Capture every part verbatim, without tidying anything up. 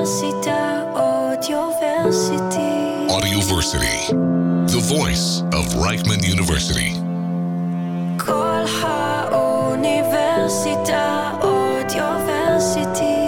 Università, Audioversity. Audioversity, the voice of Reichman University. כל האוניברסיטה, Audioversity.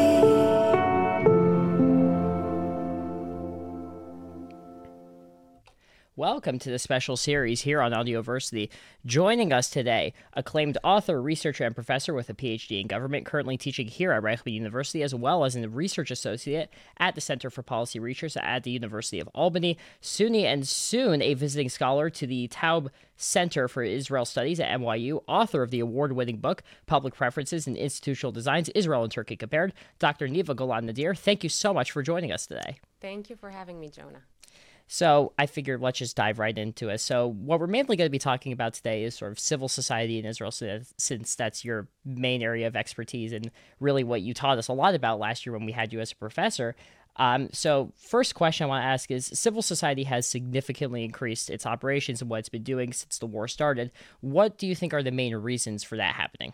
Welcome to the special series here on Audioversity. Joining us today, acclaimed author, researcher, and professor with a P H D in government, currently teaching here at Reichman University, as well as a research associate at the Center for Policy Research at the University of Albany, SUNY, and soon a visiting scholar to the Taub Center for Israel Studies at N Y U, author of the award-winning book, Public Preferences and Institutional Designs, Israel and Turkey Compared, Doctor Neva Golan Nadir. Thank you so much for joining us today. Thank you for having me, Jonah. So I figured let's just dive right into it. So what we're mainly going to be talking about today is sort of civil society in Israel, since that's your main area of expertise and really what you taught us a lot about last year when we had you as a professor. Um, so first question I want to ask is, civil society has significantly increased its operations and what it's been doing since the war started. What do you think are the main reasons for that happening?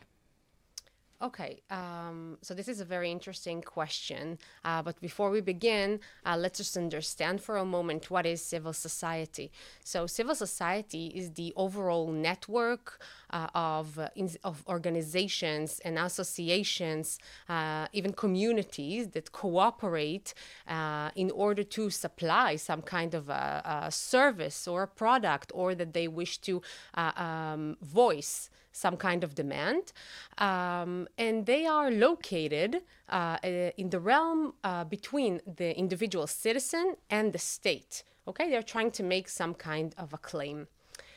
Okay, um, so this is a very interesting question, uh, but before we begin, uh, let's just understand for a moment what is civil society. So civil society is the overall network uh, of, uh, in, of organizations and associations, uh, even communities that cooperate uh, in order to supply some kind of a, a service or a product, or that they wish to uh, um, voice some kind of demand, um, and they are located uh, in the realm uh, between the individual citizen and the state. Okay, they're trying to make some kind of a claim.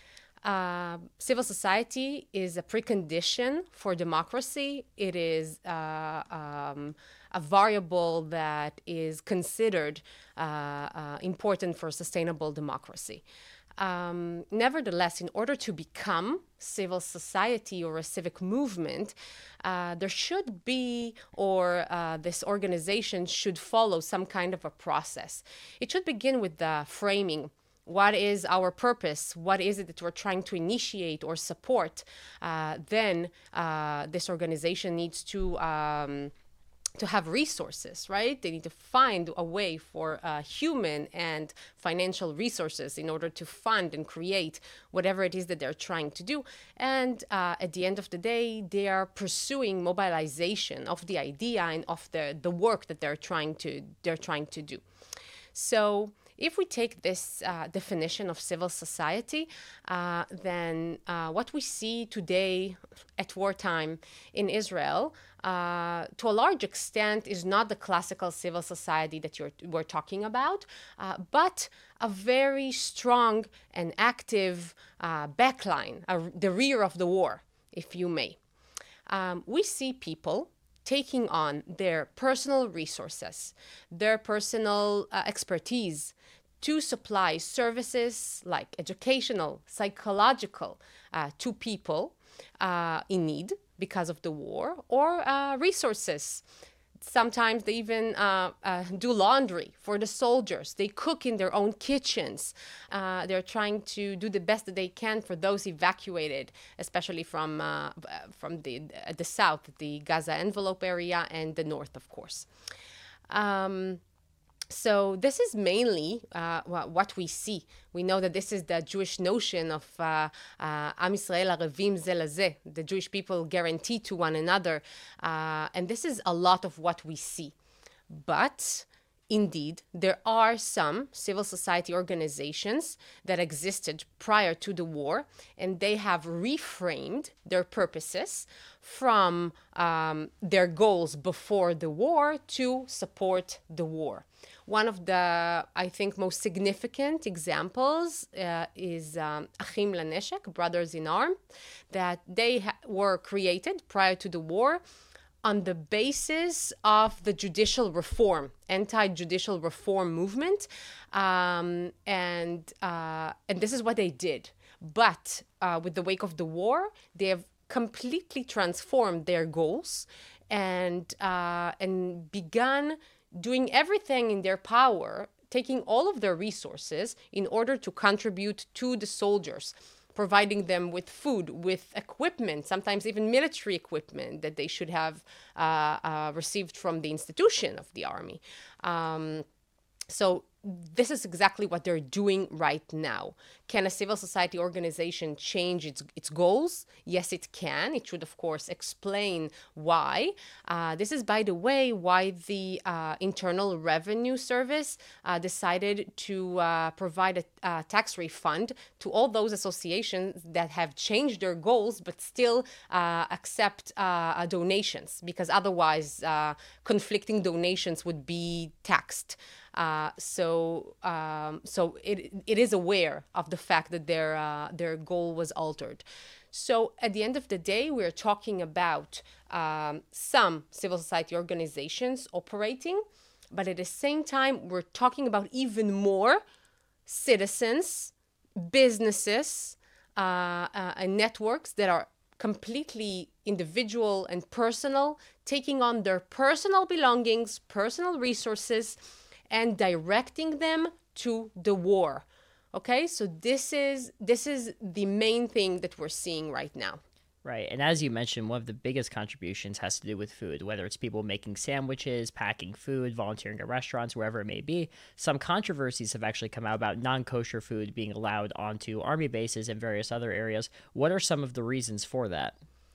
Uh, civil society is a precondition for democracy. It is uh, um, a variable that is considered uh, uh, important for sustainable democracy. Um, nevertheless, in order to become civil society or a civic movement, uh, there should be, or uh, this organization should follow some kind of a process. It should begin with the framing. What is our purpose? What is it that we're trying to initiate or support? Uh, then uh, this organization needs to um, to have resources, right? They need to find a way for uh, human and financial resources in order to fund and create whatever it is that they're trying to do. And uh, at the end of the day, they are pursuing mobilization of the idea and of the, the work that they're trying to they're trying to do. So if we take this uh, definition of civil society, uh, then uh, what we see today at wartime in Israel, uh, to a large extent, is not the classical civil society that you're, we're talking about, uh, but a very strong and active uh, backline, uh, the rear of the war, if you may. Um, we see people taking on their personal resources, their personal uh, expertise to supply services like educational, psychological, uh, to people uh, in need because of the war, or uh, resources. Sometimes they even uh, uh, do laundry for the soldiers. They cook in their own kitchens. Uh, they're trying to do the best that they can for those evacuated, especially from uh, from the uh, the south, the Gaza envelope area, and the north, of course. Um, So this is mainly uh, what we see. We know that this is the Jewish notion of uh, uh, Am Yisrael Arevim Ze Lazeh, the Jewish people guarantee to one another. Uh, and this is a lot of what we see. But indeed, there are some civil society organizations that existed prior to the war, and they have reframed their purposes from um, their goals before the war to support the war. One of the, I think, most significant examples uh, is um, Achim Laneshek, Brothers in Arms, that they ha- were created prior to the war on the basis of the judicial reform, anti-judicial reform movement. Um, and, uh, and this is what they did. But uh, with the wake of the war, they have completely transformed their goals and, uh, and begun doing everything in their power, taking all of their resources in order to contribute to the soldiers, providing them with food, with equipment, sometimes even military equipment that they should have uh, uh, received from the institution of the army. Um, so this is exactly what they're doing right now. Can a civil society organization change its its goals? Yes, it can. It should, of course, explain why. Uh, this is, by the way, why the uh, Internal Revenue Service uh, decided to uh, provide a, a tax refund to all those associations that have changed their goals but still uh, accept uh, donations, because otherwise uh, conflicting donations would be taxed. Uh, so um, so it it is aware of the fact that their uh, their goal was altered. So at the end of the day, we're talking about um, some civil society organizations operating, but at the same time, we're talking about even more citizens, businesses, uh, uh, and networks that are completely individual and personal, taking on their personal belongings, personal resources, and directing them to the war. Okay, so this is this is the main thing that we're seeing right now. Right. And as you mentioned, one of the biggest contributions has to do with food, whether it's people making sandwiches, packing food, volunteering at restaurants, wherever it may be. Some controversies have actually come out about non-kosher food being allowed onto army bases and various other areas. What are some of the reasons for that?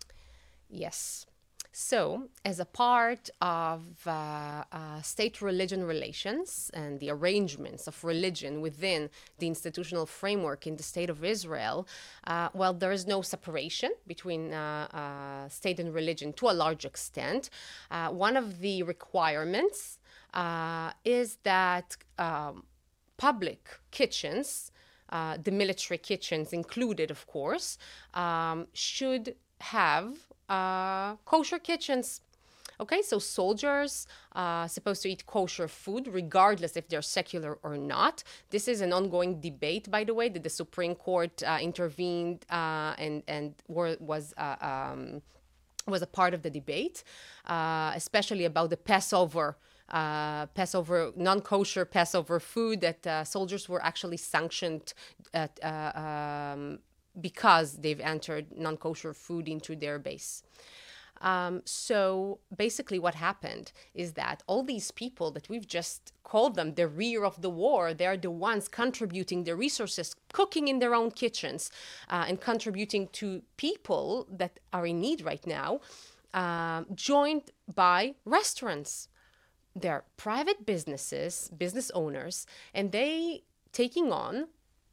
Yes. So, as a part of uh, uh, state-religion relations and the arrangements of religion within the institutional framework in the State of Israel, uh, well, there is no separation between uh, uh, state and religion to a large extent. Uh, one of the requirements uh, is that um, public kitchens, uh, the military kitchens included, of course, um, should have Uh, kosher kitchens. Okay, so soldiers are uh, supposed to eat kosher food regardless if they're secular or not. This is an ongoing debate, by the way, that the Supreme Court uh, intervened uh, and and were, was uh, um, was a part of the debate, uh, especially about the Passover. Uh, Passover, non-kosher Passover food that uh, soldiers were actually sanctioned at, uh, um, because they've entered non-kosher food into their base. Um, so basically what happened is that all these people that we've just called them the rear of the war, they're the ones contributing the resources, cooking in their own kitchens, uh, and contributing to people that are in need right now, uh, joined by restaurants. They're private businesses, business owners, and they taking on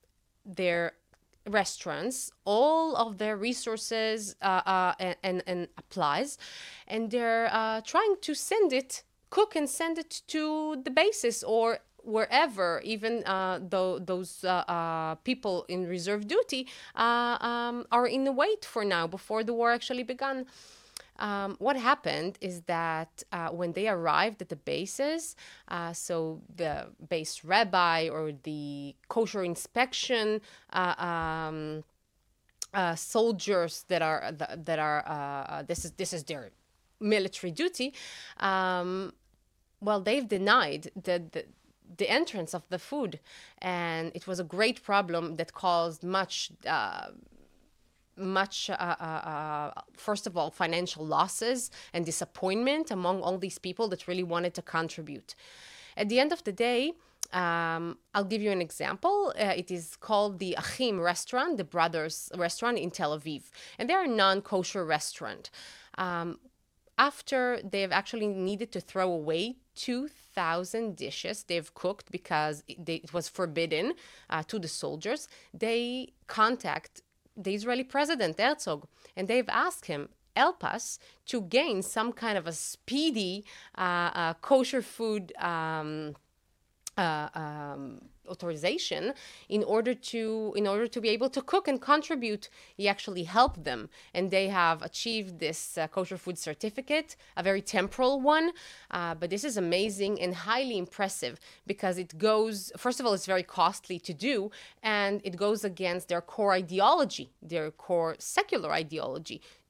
their restaurants, all of their resources uh, uh, and, and, and applies, and they're uh, trying to send it, cook and send it to the bases or wherever, even uh, though those uh, uh, people in reserve duty uh, um, are in the wait for now, before the war actually began. Um, what happened is that uh, when they arrived at the bases, uh, so the base rabbi or the kosher inspection uh, um, uh, soldiers that are that are uh, this is this is their military duty. Um, well, they've denied the, the the entrance of the food, and it was a great problem that caused much. Uh, much, uh, uh, uh, first of all, financial losses and disappointment among all these people that really wanted to contribute. At the end of the day, um, I'll give you an example. Uh, it is called the Achim restaurant, the Brothers restaurant in Tel Aviv. And they're a non-kosher restaurant. Um, after they've actually needed to throw away two thousand dishes they've cooked because it, they, it was forbidden uh, to the soldiers, they contact the Israeli president, Herzog, and they've asked him, help us to gain some kind of a speedy uh, uh, kosher food um, uh, um, authorization in order to in order to be able to cook and contribute. He actually helped them, and they have achieved this uh, kosher food certificate, a very temporal one, uh, but this is amazing and highly impressive because it goes, first of all, it's very costly to do, and it goes against their core ideology, their core secular ideology,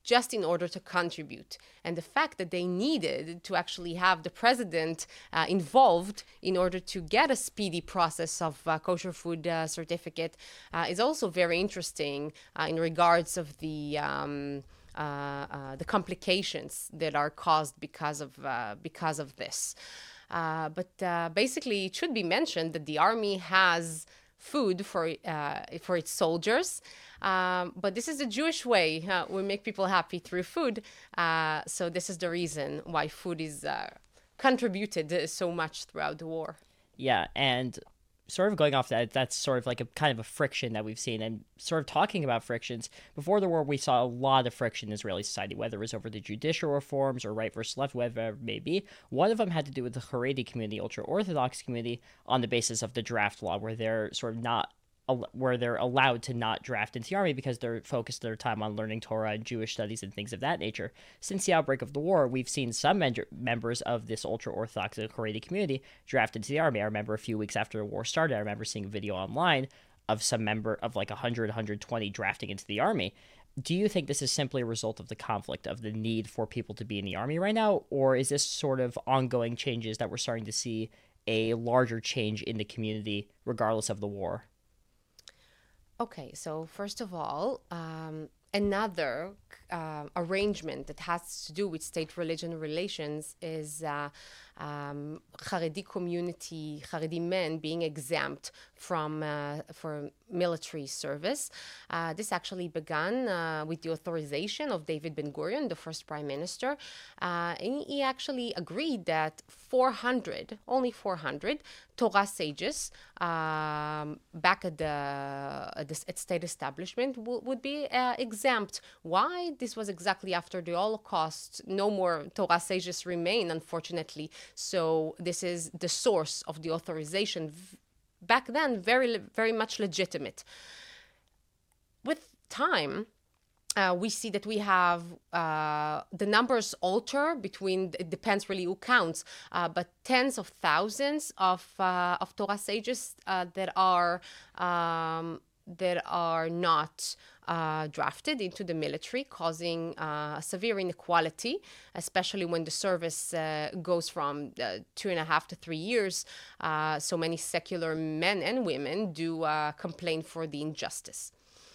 just in order to contribute. And the fact that they needed to actually have the president uh, involved in order to get a speedy process of uh, kosher food uh, certificate uh, is also very interesting uh, in regards of the um, uh, uh, the complications that are caused because of uh, because of this. Uh, but uh, basically, it should be mentioned that the army has food for uh, for its soldiers, um, but this is the Jewish way. Uh, we make people happy through food, uh, so this is the reason why food is uh, contributed so much throughout the war. Yeah, and sort of going off that, that's sort of like a kind of a friction that we've seen, and sort of talking about frictions. Before the war, we saw a lot of friction in Israeli society, whether it was over the judicial reforms or right versus left, whatever it may be. One of them had to do with the Haredi community, ultra-Orthodox community, on the basis of the draft law, where they're sort of not where they're allowed to not draft into the army because they're focused their time on learning Torah and Jewish studies and things of that nature. Since the outbreak of the war, we've seen some men- members of this ultra-Orthodox and Haredi community draft into the army. I remember a few weeks after the war started, I remember seeing a video online of some member of like one hundred, one hundred twenty drafting into the army. Do you think this is simply a result of the conflict, of the need for people to be in the army right now? Or is this sort of ongoing changes that we're starting to see a larger change in the community regardless of the war? Okay, so first of all, um, another uh, arrangement that has to do with state-religion relations is uh, um, Haredi community, Haredi men being exempt from uh, for military service. Uh, this actually began uh, with the authorization of David Ben-Gurion, the first prime minister. Uh, and he actually agreed that four hundred, only four hundred, Torah sages um, back at the, at the at state establishment w- would be uh, exempt. Why? This was exactly after the Holocaust. No more Torah sages remain, unfortunately. So this is the source of the authorization. Back then, very, very much legitimate. With time, uh, we see that we have uh, the numbers alter between, it depends really who counts, uh, but tens of thousands of uh, of Torah sages uh, that are um, that are not uh, drafted into the military, causing uh, severe inequality, especially when the service uh, goes from uh, two and a half to three years. Uh, so many secular men and women do uh, complain for the injustice.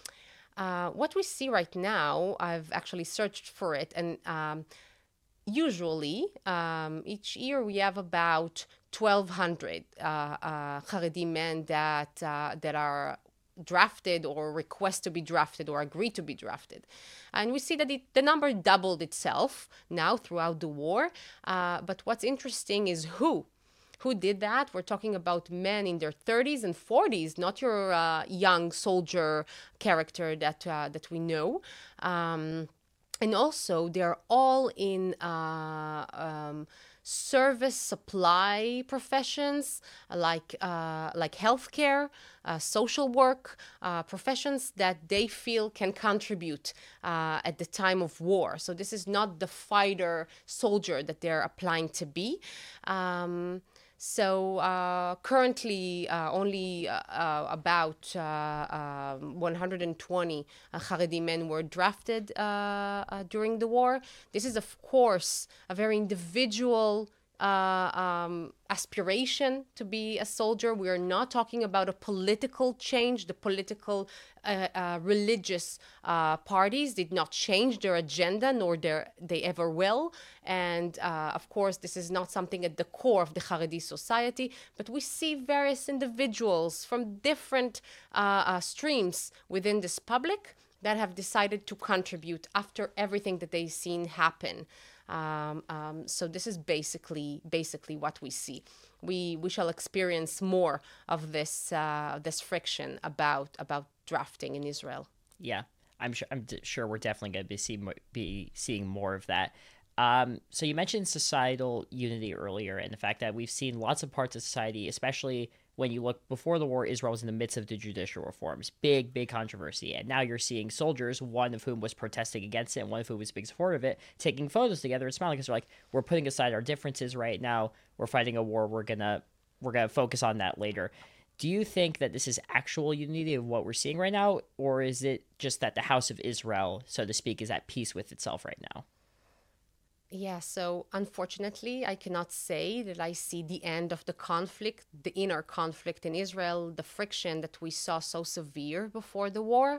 Uh, what we see right now, I've actually searched for it, and um, usually um, each year we have about twelve hundred uh, uh, Haredi men that uh, that are drafted or request to be drafted or agree to be drafted. And we see that it, the number doubled itself now throughout the war. Uh, but what's interesting is who. Who did that? We're talking about men in their thirties and forties, not your uh, young soldier character that uh, that we know. Um, and also, they're all in uh, um, service supply professions like uh, like healthcare, uh, social work, uh, professions that they feel can contribute uh, at the time of war. So this is not the fighter soldier that they're applying to be. Um, So uh, currently, uh, only uh, uh, about uh, uh, one hundred twenty uh, Haredi men were drafted uh, uh, during the war. This is, of course, a very individual uh, um, aspiration to be a soldier. We are not talking about a political change. The political uh, uh, religious uh, parties did not change their agenda, nor their, they ever will. And uh, of course, this is not something at the core of the Haredi society, but we see various individuals from different uh, uh, streams within this public that have decided to contribute after everything that they've seen happen. Um, um, so this is basically basically what we see. We we shall experience more of this uh, this friction about about drafting in Israel. Yeah, I'm sure. I'm d- sure we're definitely going to be see be seeing more of that. Um, so you mentioned societal unity earlier, and the fact that we've seen lots of parts of society, especially when you look before the war, Israel was in the midst of the judicial reforms. Big, big controversy. And now you're seeing soldiers, one of whom was protesting against it and one of whom was a big supporter of it, taking photos together and smiling because they're like, we're putting aside our differences right now. We're fighting a war. We're going to we're gonna focus on that later. Do you think that this is actual unity of what we're seeing right now, or is it just that the House of Israel, so to speak, is at peace with itself right now? Yeah, so unfortunately, I cannot say that I see the end of the conflict, the inner conflict in Israel, the friction that we saw so severe before the war.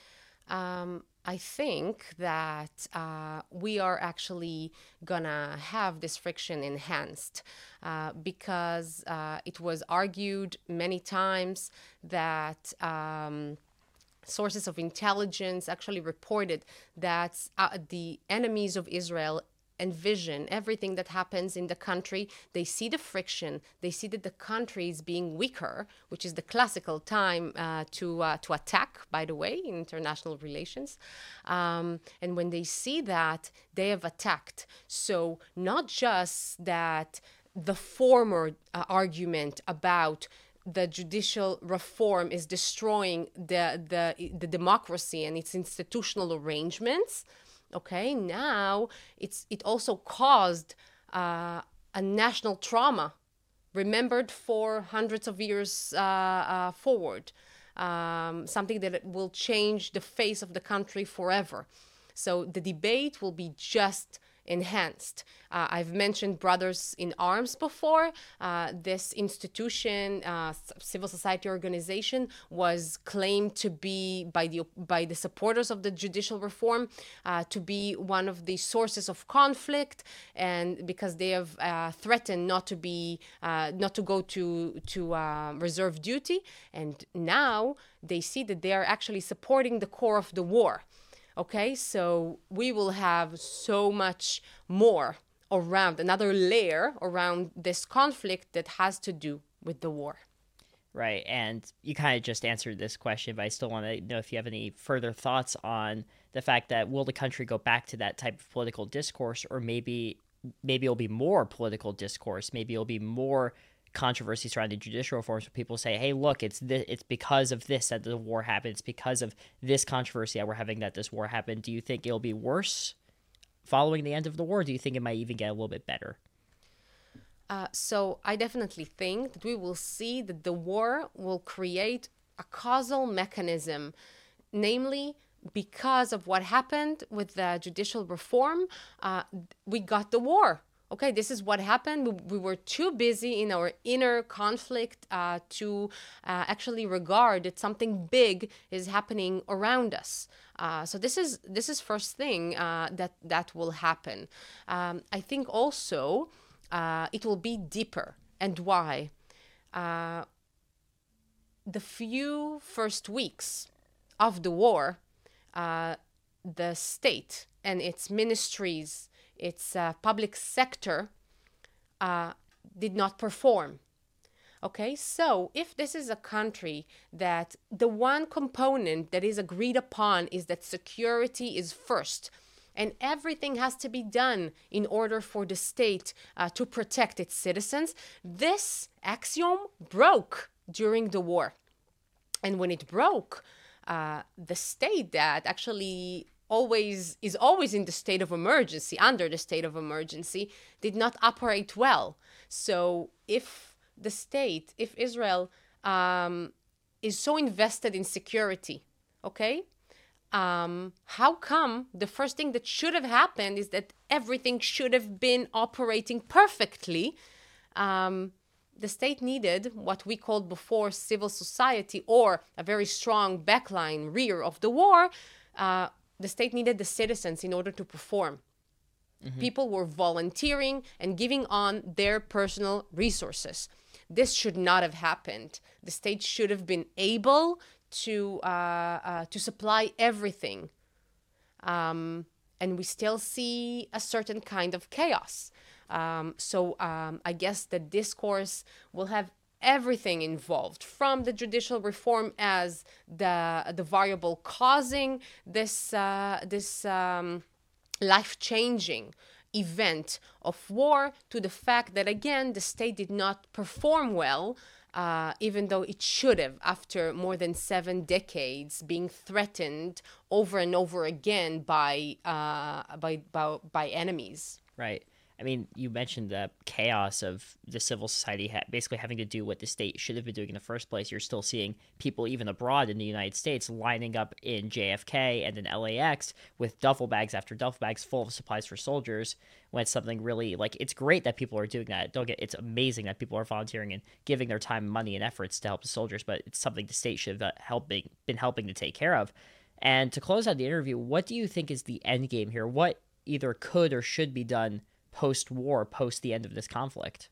Um, I think that uh, we are actually gonna have this friction enhanced uh, because uh, it was argued many times that um, sources of intelligence actually reported that uh, the enemies of Israel envision everything that happens in the country. They see the friction. They see that the country is being weaker, which is the classical time uh, to uh, to attack, by the way, in international relations. Um, and when they see that, they have attacked. So not just that the former uh, argument about the judicial reform is destroying the, the the democracy and its institutional arrangements. Okay, now it's it also caused uh, a national trauma, remembered for hundreds of years uh, uh, forward, um, something that will change the face of the country forever. So the debate will be just enhanced. Uh, I've mentioned Brothers in Arms before. Uh, this institution, uh, civil society organization, was claimed to be by the by the supporters of the judicial reform uh, to be one of the sources of conflict, and because they have uh, threatened not to be uh, not to go to to uh, reserve duty, and now they see that they are actually supporting the core of the war. Okay, so we will have so much more around, another layer around this conflict that has to do with the war. Right, and you kind of just answered this question, but I still want to know if you have any further thoughts on the fact that will the country go back to that type of political discourse, or maybe maybe it'll be more political discourse, maybe it'll be more controversy surrounding judicial reforms where people say, hey, look, it's this, it's because of this that the war happened. It's because of this controversy that we're having that this war happened. Do you think it'll be worse following the end of the war? Or do you think it might even get a little bit better? Uh, so I definitely think that we will see that the war will create a causal mechanism, namely because of what happened with the judicial reform, uh, we got the war. Okay, this is what happened. We, we were too busy in our inner conflict uh, to uh, actually regard that something big is happening around us. Uh, so this is this is first thing uh, that that will happen. Um, I think also uh, it will be deeper. And why? Uh, the few first weeks of the war, uh, the state and its ministries, its uh, public sector uh, did not perform. Okay, so if this is a country that the one component that is agreed upon is that security is first, and everything has to be done in order for the state uh, to protect its citizens, this axiom broke during the war. And when it broke, uh, the state that actually always is always in the state of emergency, under the state of emergency, did not operate well. So if the state, if Israel um, is so invested in security, okay, um, how come the first thing that should have happened is that everything should have been operating perfectly? Um, the state needed what we called before civil society, or a very strong backline rear of the war. Uh, The state needed the citizens in order to perform. Mm-hmm. People were volunteering and giving on their personal resources. This should not have happened. The state should have been able to uh, uh, to supply everything. Um, and we still see a certain kind of chaos. Um, so um, I guess the discourse will have everything involved, from the judicial reform as the the variable causing this uh, this um, life-changing event of war, to the fact that again the state did not perform well, uh, even though it should have, after more than seven decades being threatened over and over again by uh, by by, by enemies. Right. I mean, you mentioned the chaos of the civil society ha- basically having to do what the state should have been doing in the first place. You're still seeing people, even abroad in the United States, lining up in J F K and in L A X with duffel bags after duffel bags full of supplies for soldiers. When it's something really, like, it's great that people are doing that. Don't get, it's amazing that people are volunteering and giving their time, money, and efforts to help the soldiers, but it's something the state should have helping, been helping to take care of. And to close out the interview, what do you think is the end game here? What either could or should be done post-war, post the end of this conflict?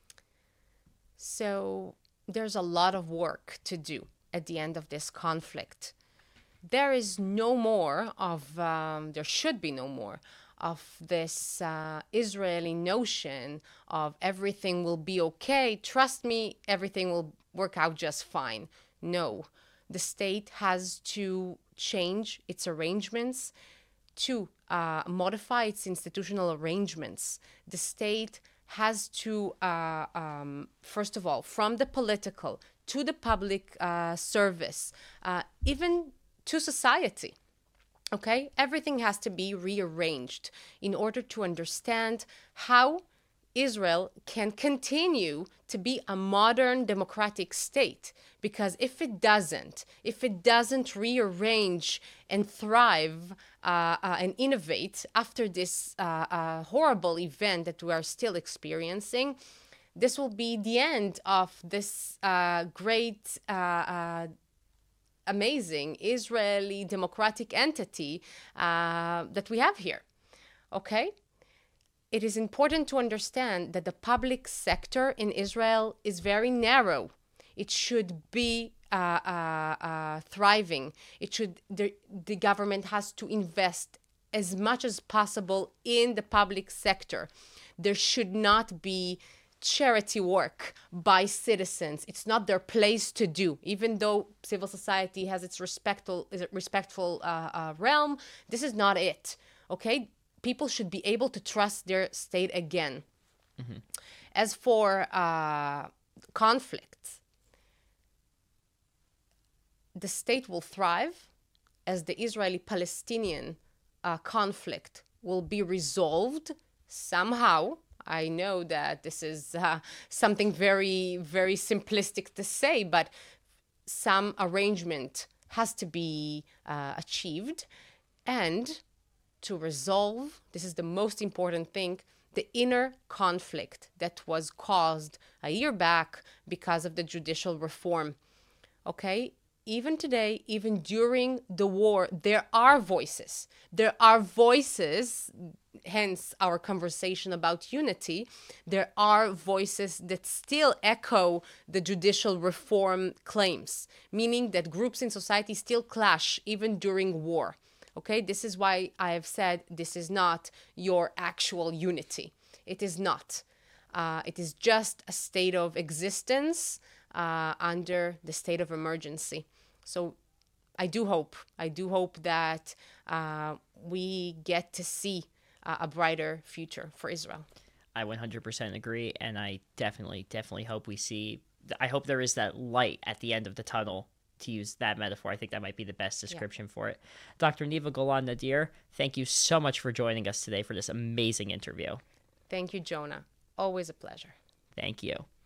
So there's a lot of work to do at the end of this conflict. There is no more of, um, there should be no more of this uh, Israeli notion of everything will be okay. Trust me, everything will work out just fine. No, the state has to change its arrangements to uh, modify its institutional arrangements. The state has to, uh, um, first of all, from the political to the public uh, service, uh, even to society, okay? Everything has to be rearranged in order to understand how Israel can continue to be a modern democratic state. Because if it doesn't, if it doesn't rearrange and thrive uh, uh, and innovate after this uh, uh, horrible event that we are still experiencing, this will be the end of this uh, great, uh, uh, amazing Israeli democratic entity uh, that we have here, okay? It is important to understand that the public sector in Israel is very narrow. It should be uh, uh, uh, thriving. It should. The, the government has to invest as much as possible in the public sector. There should not be charity work by citizens. It's not their place to do. Even though civil society has its respectful, respectful uh, uh, realm, this is not it. Okay. People should be able to trust their state again. Mm-hmm. As for uh, conflicts, the state will thrive as the Israeli-Palestinian uh, conflict will be resolved somehow. I know that this is uh, something very, very simplistic to say, but some arrangement has to be uh, achieved. And to resolve, this is the most important thing, the inner conflict that was caused a year back because of the judicial reform. Okay? Even today, even during the war, there are voices. There are voices, hence our conversation about unity. There are voices that still echo the judicial reform claims, meaning that groups in society still clash even during war. Okay, this is why I have said this is not your actual unity. It is not. Uh, it is just a state of existence uh, under the state of emergency. So I do hope, I do hope that uh, we get to see uh, a brighter future for Israel. I one hundred percent agree, and I definitely, definitely hope we see, I hope there is that light at the end of the tunnel. To use that metaphor, I think that might be the best description yeah. for it. Doctor Niva Golan Nadir, thank you so much for joining us today for this amazing interview. Thank you, Jonah. Always a pleasure. Thank you.